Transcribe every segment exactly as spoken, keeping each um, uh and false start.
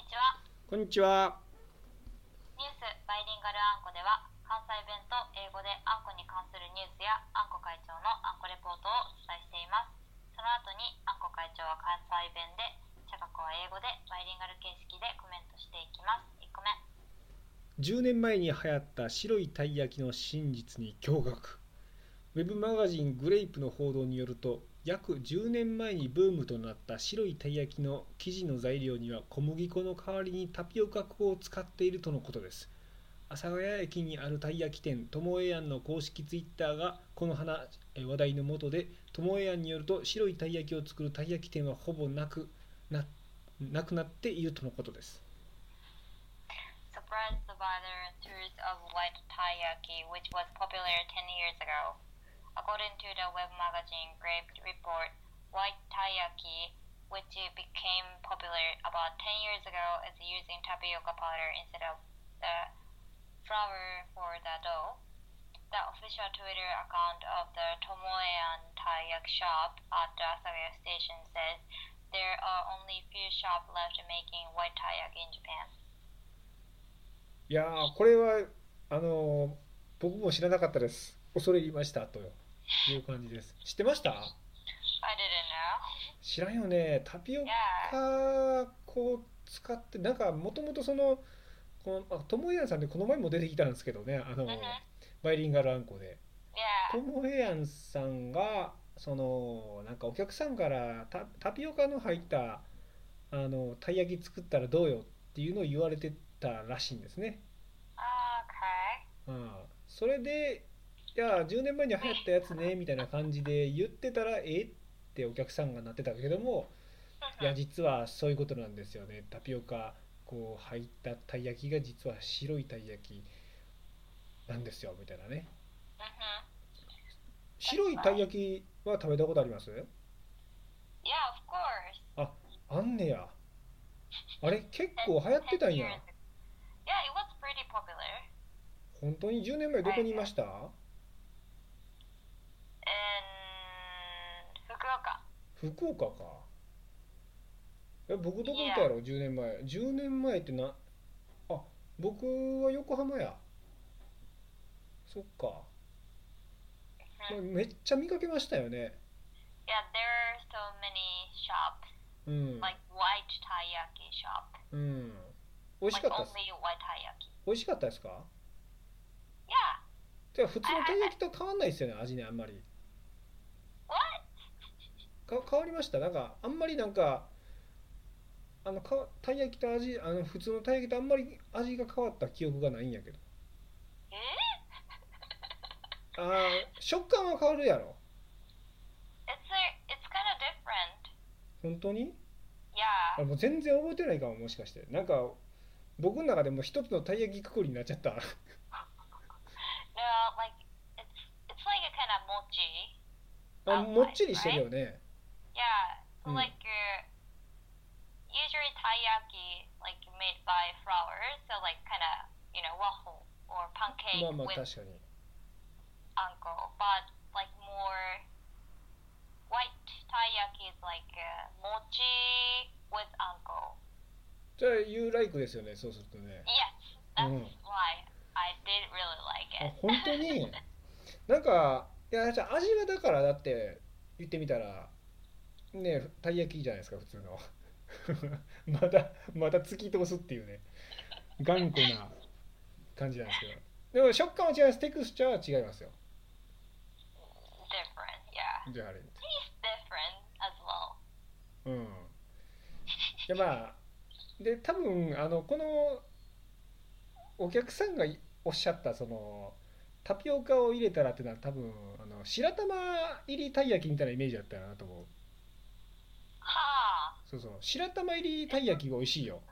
ちは。 こんにちは。 ニュースバイリンガルあんこでは、関西弁と英語であんこに関するニュースやあんこ会長のあんこレポートをお伝えしています。その後にあんこ会長は関西弁で、茶学は英語でバイリンガル形式でコメントしていきます。いっこめ。 じゅうねんまえに流行った白いたい焼きの真実に驚愕。ウェブマガジングレイプの報道によると、約じゅうねんまえにブームとなった白いたい焼きの生地の材料には小麦粉の代わりにタピオカ粉を使っているとのことです。阿佐ヶ谷駅にあるたい焼き店ともえやんの公式ツイッターがこの話話題のもとで、ともえやんによると白いたい焼きを作るたい焼き店はほぼなくななくなっているとのことです。 Surprised by the return of white taiyaki, which was popular ten years ago. According to the web magazine Grape Report, white taiyaki, which became popular about ten years ago, is using tapioca powder instead of the flour for the dough. The official Twitter account of the Tomoean Taiyaki shop at the Asagaya station says there are only few shops left making white taiyaki in Japan. いやー、これはあのー僕も知らなかったです。恐れ入りましたという感じです。知ってました？ I didn't know. 知らんよね。タピオ Yeah. カ粉を使って、なんかもともとその、この、あ、ともえやんさんでこの前も出てきたんですけどね、あの、 Mhm. バイリンガルあんこで。と Yeah. もえやんさんが、その、なんかお客さんからタ、タピオカの入ったあのたい焼き作ったらどうよっていうのを言われてたらしいんですね。 Okay. うん、それで、いや、じゅうねんまえに流行ったやつねみたいな感じで言ってたら、えってお客さんがなってたけども、いや、 Mhm. 実はそういうことなんですよね。タピオカこう入ったたい焼きが実は白いたい焼きなんですよみたいなね。 Mhm. 白 That's いたい right. 焼きは食べたことあります？ Yeah, of course. あ、あんねや。あれ結 Ten, 構流行ってた ten んや。 years ago. Yeah, it was pretty popular. 本当にじゅうねんまえどこ I にいま guess. した？ In Fukuoka. 福岡か。え、僕どこいた Yeah. やろ？ じゅう 年前。じゅうねんまえってな、あ、僕は横浜や。そっか。まあ、 Mhm. めっちゃ見かけましたよね。 Yeah, there are so many shops, うん。 like white taiyaki shop, うん。美味し like かったっす。 only white taiyaki. 美味しかったですか？ Yeah. てか普 I, 通のた I, い I 焼きと変わんないですよね、味ね、あんまり。 what? か変わりました。なんか、あんまりなんか、あの、かたい焼きと味、あの、普通のたい焼きとあんまり味が変わった記憶がないんやけど。あー、食感は変わるやろ。 It's a, it's kind of different. 本当に？ Yeah. あ、もう全然覚えてないかも、もしかして。なんか、僕の中でも一つのたい焼きくくりになっちゃった。 No, like it's it's like a kind of mochi あ、もっ outside, ちりしてる right? よね。 Yeah. う So ん。 like uh, usually taiyaki like made by flour, so like kind of you know waffle or ま pancake あまあ with 確かに。 anko, but like more white taiyaki is like uh, mochi with anko. じゃあ、You like ですよね、そうするとね。 Yes, う that's ん。 why I did really like あ、 it. 本当に？なんか、いや、じゃあ味はだからだって言ってみたら、ね、たい焼きじゃないですか、普通の。まだ、まだ突き通すっていうね、頑固な感じなんですけど。でも食感は違います。テクスチャーは違いますよ。 Different, yeah. じゃああれ。 Taste different as well. うん。で、まあ、で、多分、あの、このお客さんがおっしゃった、その、タピオカを入れたらっていうのは多分、あの、白玉入りたい焼きみたいなイメージだったなと思う。 Ha. そうそう。白玉入りたい焼きが美味しいよ。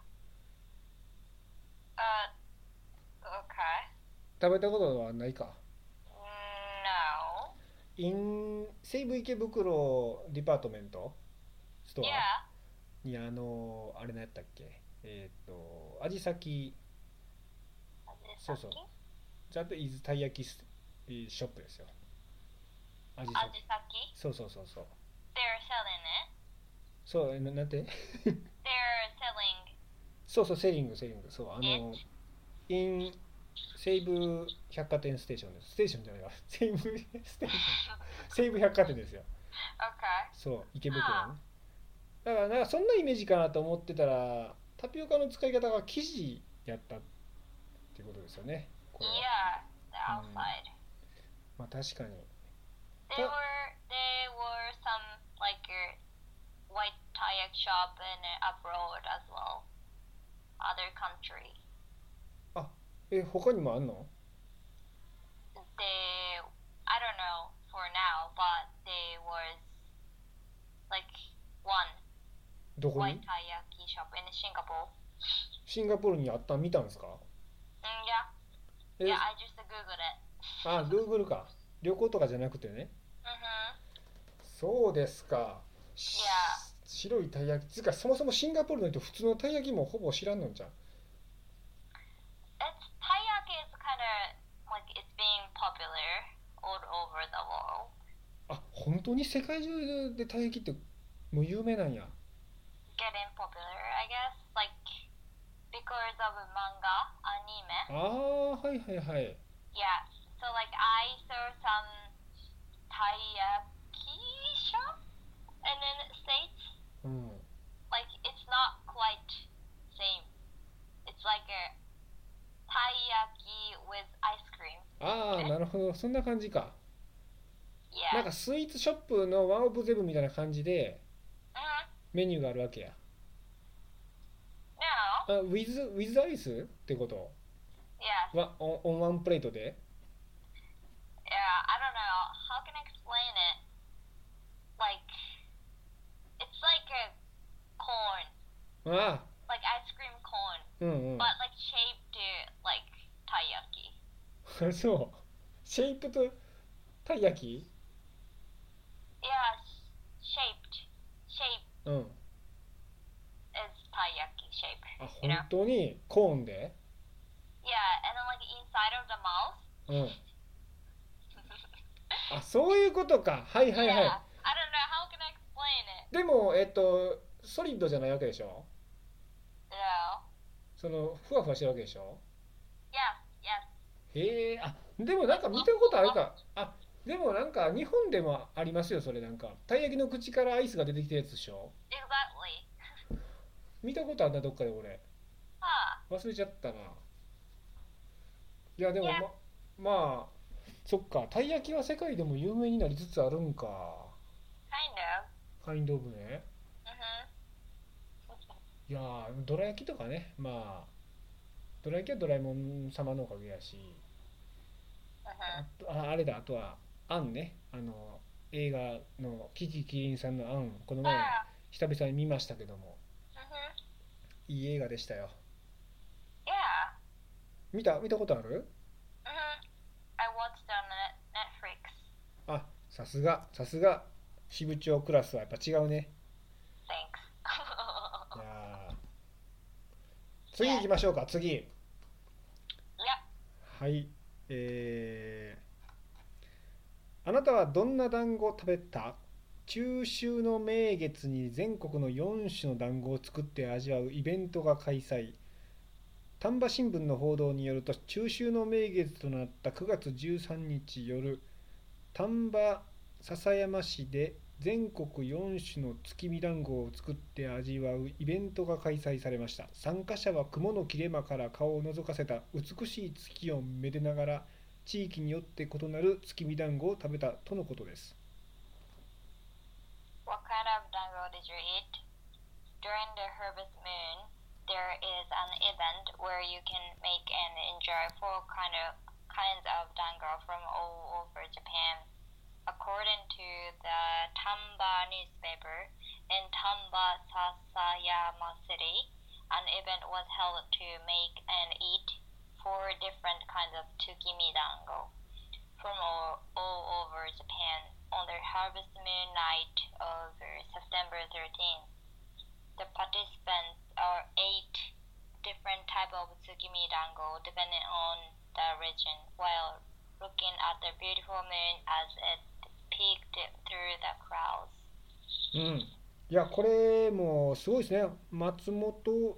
Uh, okay. 食べたことはないか。 No. イン、西武池袋ディパートメントスト Yeah. アに、あの、あれ何やったっけ、えっと、味先、そうそう。 Ajisaki? That is たい焼きスショップですよ。味先。 Ajisaki? そうそうそうそう。 They're selling it. そう、な、なんて？ They're selling そうそう、セーリング、セーリング、そう、あ It? の、in 西武百貨店ステーションです。ステーションじゃないわ。西武ステーション。西武百貨店ですよ。 Okay. そう、池袋の Huh. ね。だから、なんかそんなイメージかなと思ってたら、タピオカの使い方が生地やったっていうことですよね。これは。 Yeah, the うん。 outside. まあ確かに。 There た、 were there were some like a white kayak shop in uh, abroad as well, other country. あ、え、他にもあんの？ They I don't know for now, but there was like one どこ white に？ taiyaki shop in Singapore. シンガポールにあった？見たんですか？ Mm, yeah, え、 yeah. I just googled it. あ、Google か。旅行とかじゃなくてね。 Mhm. そうですか。し Yeah. 白いたい焼き。つうか、そもそもシンガポールの人、普通のたい焼きもほぼ知らんのんじゃん。 It's taiyaki is kind of like it's being popular all over the world. あ、本当に世界中でたい焼きってもう有名なんや。 Getting popular, I guess, like because of manga, あ anime. あ、はいはいはい。 Yeah. So like I saw some taiyaki shop and in the States. うん。 Like it's not quite same. It's like a taiyaki with ice cream ああ、 in な it. るほど。そんな感じか。なん Yeah. かスイーツショップのワンオブゼブみたいな感じで Mhm. メニューがあるわけや。 No. あ、with, with アイスってこと Yes. は、オン、オンワンプレートで Yeah. I don't know. How can I explain it? Like it's like a corn, あ like ice cream cone, あ、うんうん。 but like shaped uh, like taiyaki. そう。シェイプとたい焼き Yeah, s- shaped. Shape うん。 is taiyaki shape. あ、 You 本 know? 当にコーンで Yeah, and then like inside of the mouth. うん。あ、そういうことか。はいはい Yeah. はい。 I don't know. How can I explain it? でも、えっと、ソリッドじゃないわけでしょ？ No. その、ふわふわしてるわけでしょ？ Yes. Yes. へえ、あ、でもなんか見たことあるか。あ、でもなんか日本でもありますよ、それなんか。たい焼きの口からアイスが出てきたやつでしょ？ Exactly. 見たことあんな、どっかで俺。 Huh. 忘れちゃったな。いや、でも Yeah. ま、まあ、そっか、たい焼きは世界でも有名になりつつあるんか。 Kind of. カインドオブね。 Mhm. いやー、どら焼きとかね、まあ、どら焼きはドラえもん様のおかげやし、あ Mhm. と、あ、あれだ、あとは、あんね、あの、映画のキキキリンさんのあん、この前、 Ah. 久々に見ましたけども、 Mhm. いい映画でしたよ。 Yeah. 見た、見たことある？ Mhm. I watched on Net- Netflix. あ、さすが、さすが、支部長クラスはやっぱ違うね。い Thanks. やー、次行きましょうか、次。 Yep. はい、えー、あなたはどんな団子を食べた？中秋の名月に全国のよん種の団子を作って味わうイベントが開催。丹波新聞の報道によると、中秋の名月となったくがつじゅうさんにち夜、丹波篠山市で全国よん種の月見団子を作って味わうイベントが開催されました。参加者は雲の切れ間から顔を覗かせた美しい月をめでながら、地域によって異なる月見団子を食べたとのことです。 What kind of dango did you eat? During the harvest moon, there is an event where you can make and enjoy four kind of kinds of dango from all over Japan. According to the Tamba newspaper, in Tamba, Sasayama City, an event was held to make and eat four different kinds of tsukimi dango from all, all over Japan on the harvest moon night of September thirteenth. The participants are eight different types of tsukimi dango depending on the region, while looking at the beautiful moon as it peeked through the clouds. うん。いや、これもすごいですね。松本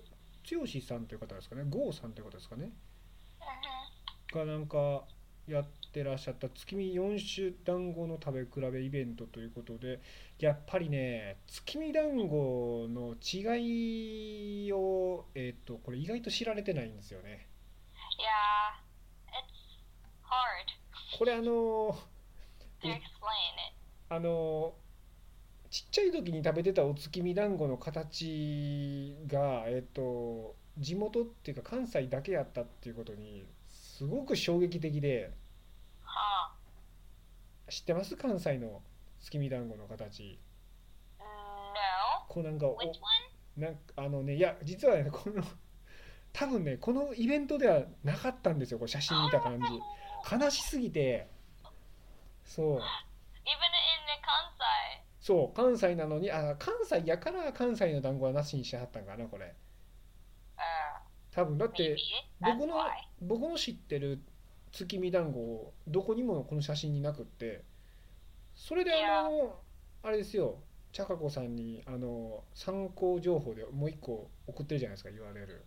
剛さんという方ですかね、郷さんという方ですかね、 Mhm. がなんかやってらっしゃった月見よん種団子の食べ比べイベントということで、やっぱりね、月見団子の違いを、えっと、これ意外と知られてないんですよね。 Yeah, it's hard これあの、 to う explain it. あの、ちっちゃい時に食べてたお月見団子の形が、えっと、地元っていうか関西だけやったっていうことに、すごく衝撃的で、 Huh. 知ってます関西の月見団子の形。 No. こうなんか Which お one? なんかあのね、いや実はね、この多分ね、このイベントではなかったんですよ、これ写真見た感じ。 Oh, 悲しすぎて、そう、 even in the Kansai. そう、関西なのに、あ、関西やから関西の団子はなしにしてはったんかな、これ。 Uh, 多分だっ maybe て、 that's 僕の why. 僕の知ってる月見団子、どこにもこの写真になくって、それであ Yeah. の、あれですよ、茶香子さんにあの参考情報でもう一個送ってるじゃないですか、ユーアールエル。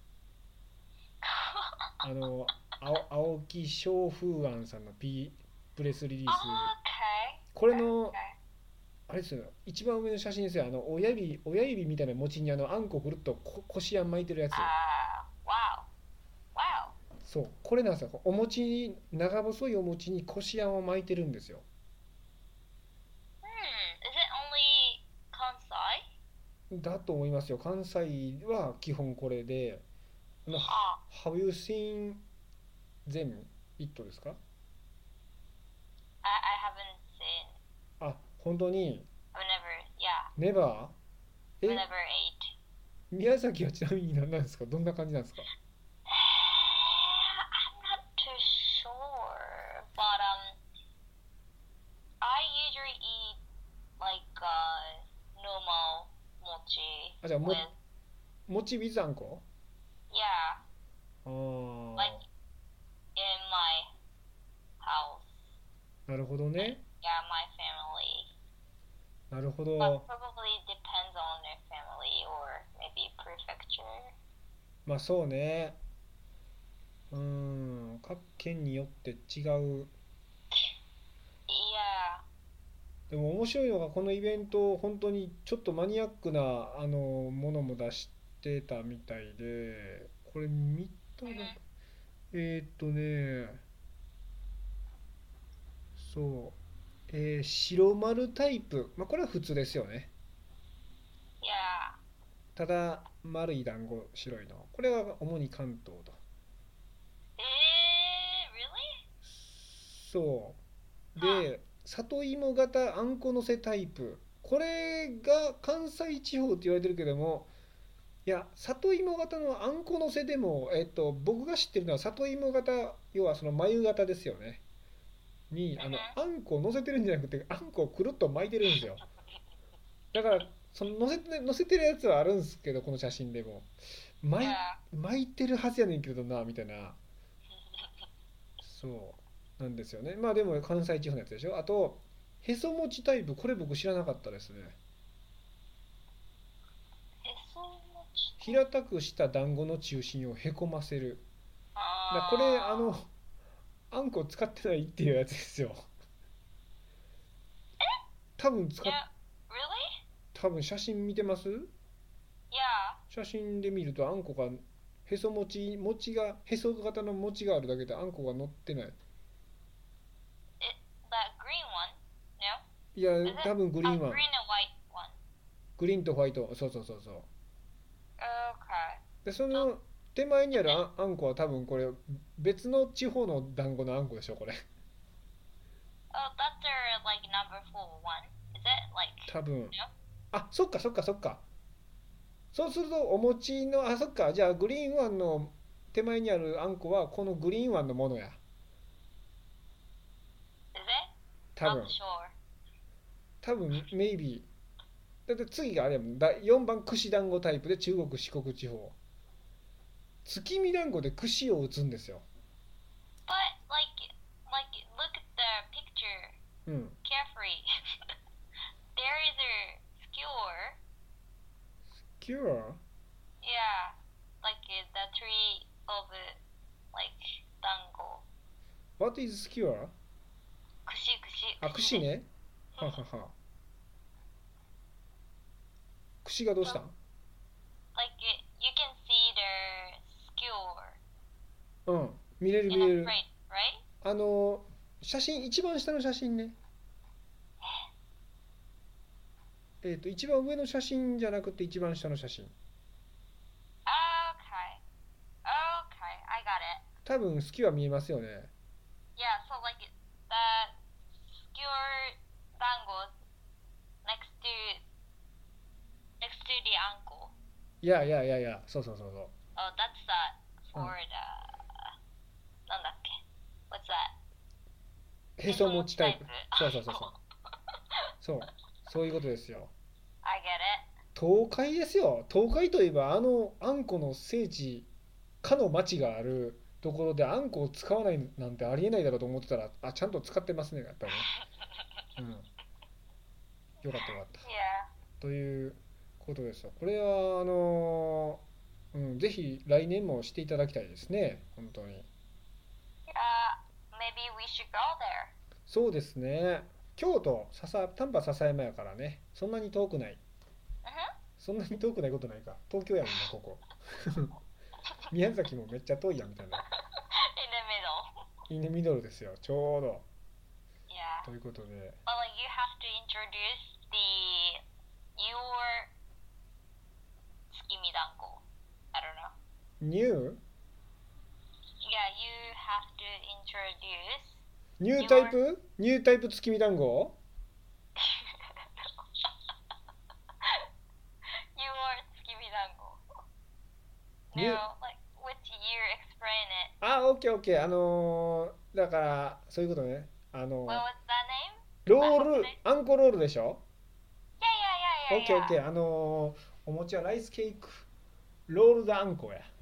あの、青青木翔風庵さんの、P、プレスリリース、 Okay. これの、 Okay. あれですよ、一番上の写真ですよ、あの親指、親指みたいな餅にあのあんこぐるっとここしあん巻いてるやつ。 Uh, wow. Wow. そう、これなんですよ、お餅に、長細いお餅にこしあんを巻いてるんですよ。 Hmm. Is it only Kansai? だと思いますよ、関西は基本これで、あの、 Huh. Have you seen them? It ですか？ I, I haven't seen. あ、本当に、 I've never. Yeah. ネバー I've え、 never ate. 宮崎はちなみに何なんですか？どんな感じなんですか？ I'm not too sure, but um, I usually eat like uh normal mochi あ、じゃあ、も、 with 餅 with あんこ？ yeah, あ like あ、 in my house. なるほどね。 Yeah, my family. なるほ But ど。 probably depends on their family or maybe prefecture. まあそうね。うーん、各県によって違う。 Yeah. でも面白いのがこのイベント、本当にちょっとマニアックなあのものも出してたみたいで、これ見たら、 Mhm. えーっとね、そう、えー白丸タイプ、まあこれは普通ですよね。 Yeah. ただ丸い団子白いの、これは主に関東と。 Eh, really? そ Huh. うで、里芋型あんこのせタイプ、これが関西地方って言われてるけども、いや、里芋型のあんこのせでも、えっと、僕が知ってるのは里芋型、要はその眉型ですよね。に、あの、 Mhm. あんこを乗せてるんじゃなくて、あんこをくるっと巻いてるんですよ。だから、その乗せて、乗せてるやつはあるんですけど、この写真でも。巻い、 Yeah. 巻いてるはずやねんけどな、みたいな。そうなんですよね。まあでも関西地方のやつでしょ。あと、へそ餅タイプ、これ僕知らなかったですね。 It's so much. 平たくした団子の中心をへこませる。だこれ、あ Uh, の、あんこ使ってないっていうやつですよ。多分使っ、 yeah. Really? 多分写真見てます？ Yeah. 写真で見るとあんこが、へそ餅、餅が、へそ型の餅があるだけであんこが乗ってない。 It, that green one? No? いや、 Is it? 多分グリ Oh, ーンは、 green and white one. グリーンとホワイト、そうそうそうそう。 Okay. で、その手前にあるあ、あんこは多分これ、別の地方の団子のあんこでしょ、これ。 Oh, that's their like number four one. Is it like 多分。 no? あ、そっかそっかそっか。そうするとお餅の、あ、そっか、じゃあグリーンワンの手前にあるあんこはこのグリーンワンのものや。 Is it? 多 Not 分 sure. 多分 maybe。 だって次があれやもんだ、よんばん串団子タイプで中国四国地方、月見団子で串を打つんですよ。 But like like look at the picture うん。 carefully. There is a skewer. Cure? Yeah. Like factory of like dango. What is skewer? 串串あ、串ね。ははは。串がどうしたん？ Like you can see their skewer うん、見れる見 in れ a る。 crate, right? あの写真、一番下の写真ね。えっと一番上の写真じゃなくて一番下の写真。 Okay. Okay, I got it. 多分スキュア見えますよね。 Yeah, so like the skewer dango next to next to the ankle. いやいやいやいや、そうそうそうそう。 Oh, that's that for Mm. the なんだっけ What's that? へそ持ちタイプ。そうそうそうそう。 アンコ。 そう、そういうことですよ。 I get it. 東海ですよ。東海といえばあのあんこの聖地、かの町があるところであんこを使わないなんてありえないだろうと思ってたら、あ、ちゃんと使ってますね、やっぱりね。うん。よかったよかった。 Yeah. ということですよ。これはあのーうん、ぜひ来年もしていただきたいですね、本当に。 Yeah. Maybe we should go there. そうですね。京都、笹丹波篠山やからね、そんなに遠くない。 Mhm. そんなに遠くないことないか。東京やもんな、ここ。宮崎もめっちゃ遠いやんみたいな。 In the middle. インデミドルですよ、ちょうど。 Yeah. ということで、 Well, like you have to introduce the your tsukimi dango. I don't know. ニュー Yeah, you have to introduce ニュータイプニュータイプ月見団子 your tsukimi dango. ニュー No, like which you explain it. あ、オッケーオッケー。あのーだからそういうことね。あの What was that name? ロール、あんこロールでしょ。 Yeah, yeah, オッ yeah, ケー yeah, オッケ yeah. ー。あのーお餅はライスケーキロールドあんこや。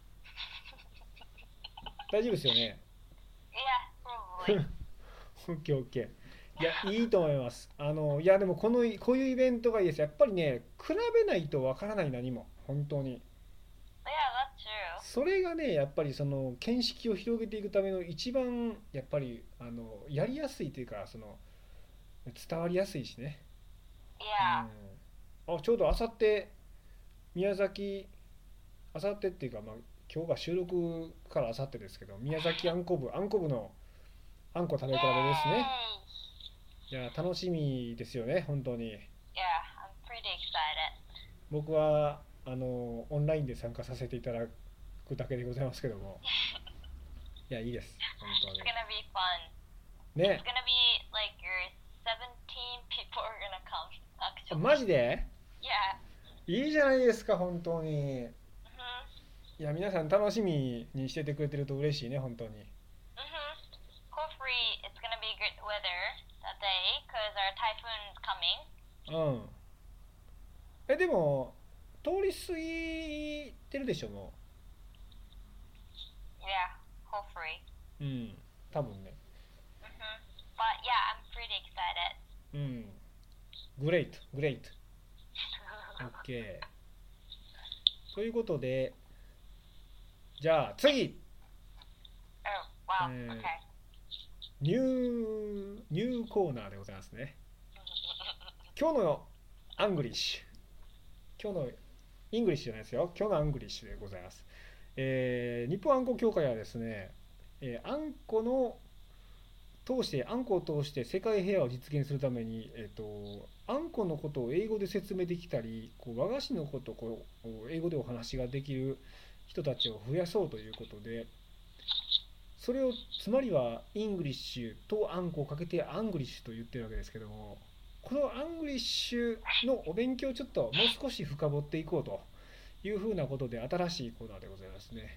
大丈夫ですよね。 Yeah, probably. オッケーオッケー。いや、いいと思います。あのいやでもこのこういうイベントがいいです。やっぱりね、比べないとわからない何も本当に。 Yeah, that's true. それがね、やっぱりその見識を広げていくための一番やっぱりあのやりやすいというか、その伝わりやすいしね。 Yeah. うん、あ、ちょうどあさって宮崎、あさってっていうか、まあ、今日が収録からあさってですけど、宮崎あんこ部、あんこ部のあんこ食べ比べですね。 Yay. いや楽しみですよね、本当に。 Yeah, I'm pretty excited. 僕はあのオンラインで参加させていただくだけでございますけども、いやいいです本 It's 当 gonna be fun. に It's ね。 gonna be like your seventeen people are gonna come, あ actually. マジで Yeah. いいじゃないですか本当に。 Mhm. いや皆さん楽しみにしててくれてると嬉しいね本当に。 Mhm. Hopefully it's gonna be good weather that day because our typhoon's coming. うん。えでも通り過ぎてるでしょも Yeah, hopefully. う。うん多分ね。 Mhm. But yeah, I'm pretty excited. うんグレートグレート OK ということで、じゃあ次 Oh, wow. Uh, Okay. ニューニューコーナーでございますね。今日のアングリッシュ、今日のイングリッシュじゃないですよ、今日のアングリッシュでございます。えー日本あんこ協会はですね、えーあんこの通してあんこを通して世界平和を実現するために、えー、とあんこのことを英語で説明できたり、こう和菓子のことをこう英語でお話ができる人たちを増やそうということで、それをつまりはイングリッシュとあんこをかけてアングリッシュと言ってるわけですけども、このアングリッシュのお勉強をちょっともう少し深掘っていこうというふうなことで新しいコーナーでございますね。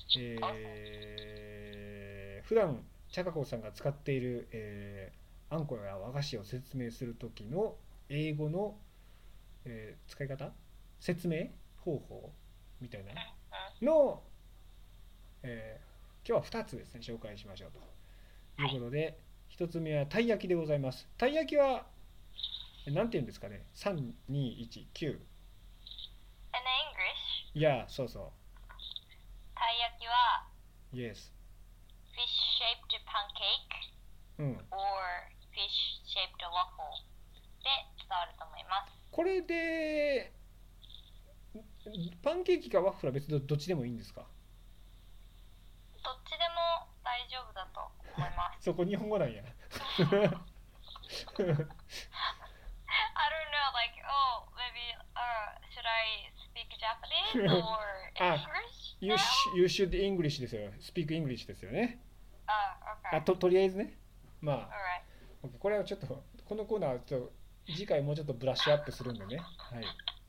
えー、普段茶香子さんが使っている、えー、あんこや和菓子を説明する時の英語の、えー使い方、説明方法みたいなの、えー今日はふたつですね紹介しましょうということで、ひとつめはたい焼きでございます。たい焼きは何て言うんですかね、さんにいちきゅう。 In English, いやそうそう焼きは Yes. fish shaped pancake うん。 or fish shaped waffle で伝わると思います。 これでパンケーキかワッフルは別にどっちでもいいんですか？ どっちでも大丈夫だと思います。 そこ日本語なんや。 I don't know, like, oh, maybe, uh, should I speak Japanese or あ、 English You, now? sh- you should English ですよ。Speak English ですよね。 Uh, あ okay. と、とりあえずね。まあ、 Alright. OK これはちょっと、このコーナーはちょっと次回もうちょっとブラッシュアップするんでね。はい。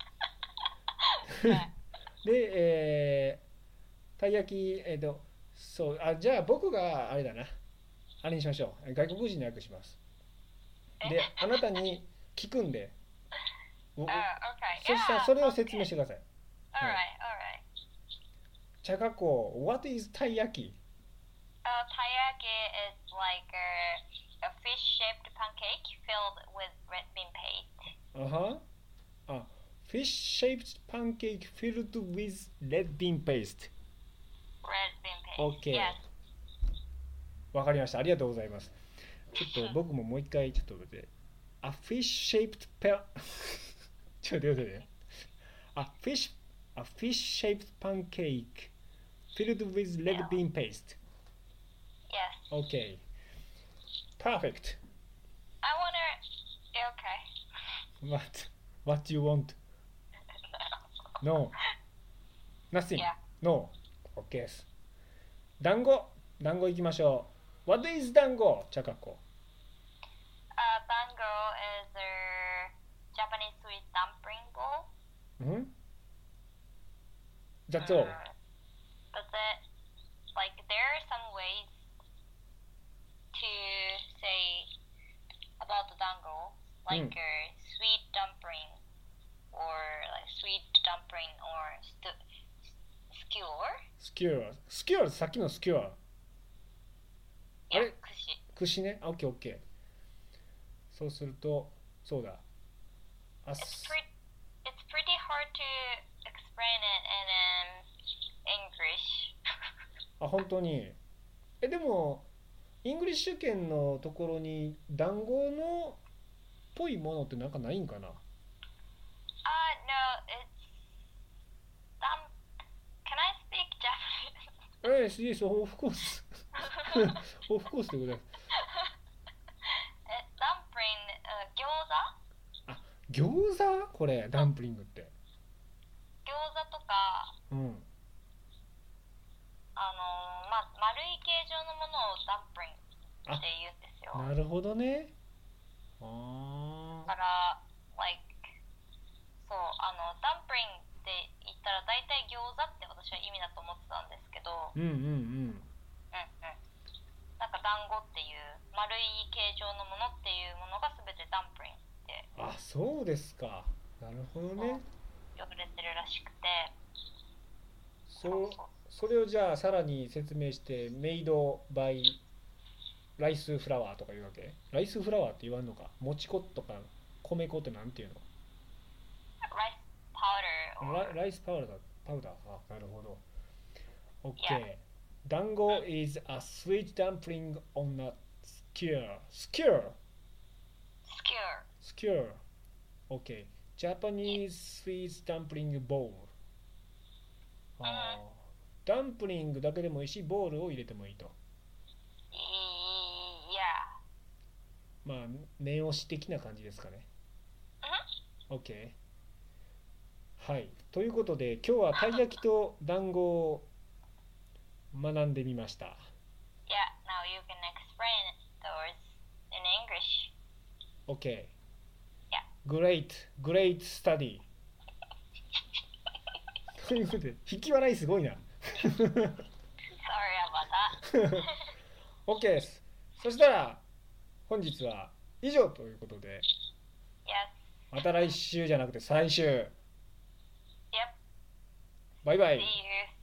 で、えー、たい焼き、えっと、そう、あ、じゃあ僕があれだな。あれにしましょう。外国人の訳します。で、あなたに聞くんで、お Uh, okay. そしたら Yeah, それを説明 okay. してください。 Alright, はい。 alright. 茶加工、What is たい焼き？ Uh, taiyaki is like a, a fish-shaped pancake filled with red bean paste. あはあ、Fish-shaped pancake filled with red bean paste。 Red bean paste. OK。 Yes. わかりました。ありがとうございます。ちょっと僕ももう一回ちょっと待って。A fish-shaped pa ちょっと待って。A fish, a fish-shaped pancake filled with red bean paste. Yes. OK. Perfect. I wanna... Okay. What? What do you want? No. Nothing. Yeah. No. OK です。団子。団子行きましょう。What is 団子？茶加工。 Uh, dango is a Japanese sweet dumpling bowl. うん That's all. Mm, That's it. Like, there are some ways to say about the dango, like Mm. a sweet dumpling, or like sweet dumpling, or stu- skewer. スキュア。スキュア、さっきのスキュア。あ Yeah, れ kushi. 串ね。オッケーオッケー。そうすると、そうだ。あ It's す pretty. It's pretty hard to explain it in um, English. あ、本当に。え、でも、イングリッシュ圏のところに団子のっぽいものってなんかないんかな？ Uh, no, it's dump. Can I speak Japanese? ええ、yes, of course. of course でございます。 It's dumpling, uh, 餃子あ、餃子？これ、ダンプリングって。 餃子とか、 うん。 あのーま、丸い形状のものをダンプリングって言うんですよ。 なるほどね。あだから、like、そう、あの、ダンプリングって言ったら大体餃子って私は意味だと思ってたんですけど、 ー。うんうんうん。 うんうん。なんか団子っていう丸い形状のものっていうものが全てダンプリングってあ、そうですか。なるほどね。 呼ばれてるらしくて、 そう、それをじゃあさらに説明してメイドバイライスフラワーとか言うわけ？ライスフラワーって言わんのか？もち粉とか米粉ってなんていうの？ ライスパウダー or ラライスパウダーパウダー。あ、なるほど。 OK、 Yeah. 団子 is a sweet dumpling on a skewer skewer skewer. skewer OK Japanese sweet dumpling bowl。 あーダンプリングだけでもいいしボールを入れてもいいと。 Yeah. まあ念押し的な感じですかね。 OK。 はい、ということで今日はたい焼きと団子を学んでみました。 Yeah, now you can explain those in English. OK Yeah. Great Great study ということで引き笑いすごいな。 Sorry about that. OK です。そしたら本日は以上ということで、 Yes. また来週じゃなくて再週。 Yep. バイバイ。 See you.